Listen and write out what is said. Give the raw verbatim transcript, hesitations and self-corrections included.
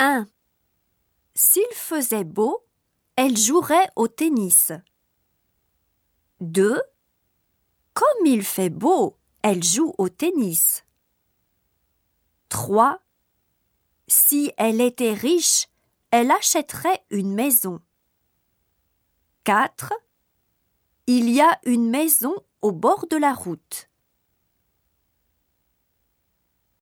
un. S'il faisait beau, elle jouerait au tennis. deux. Comme il fait beau, elle joue au tennis. trois. Si elle était riche, elle achèterait une maison. quatre. Il y a une maison au bord de la route.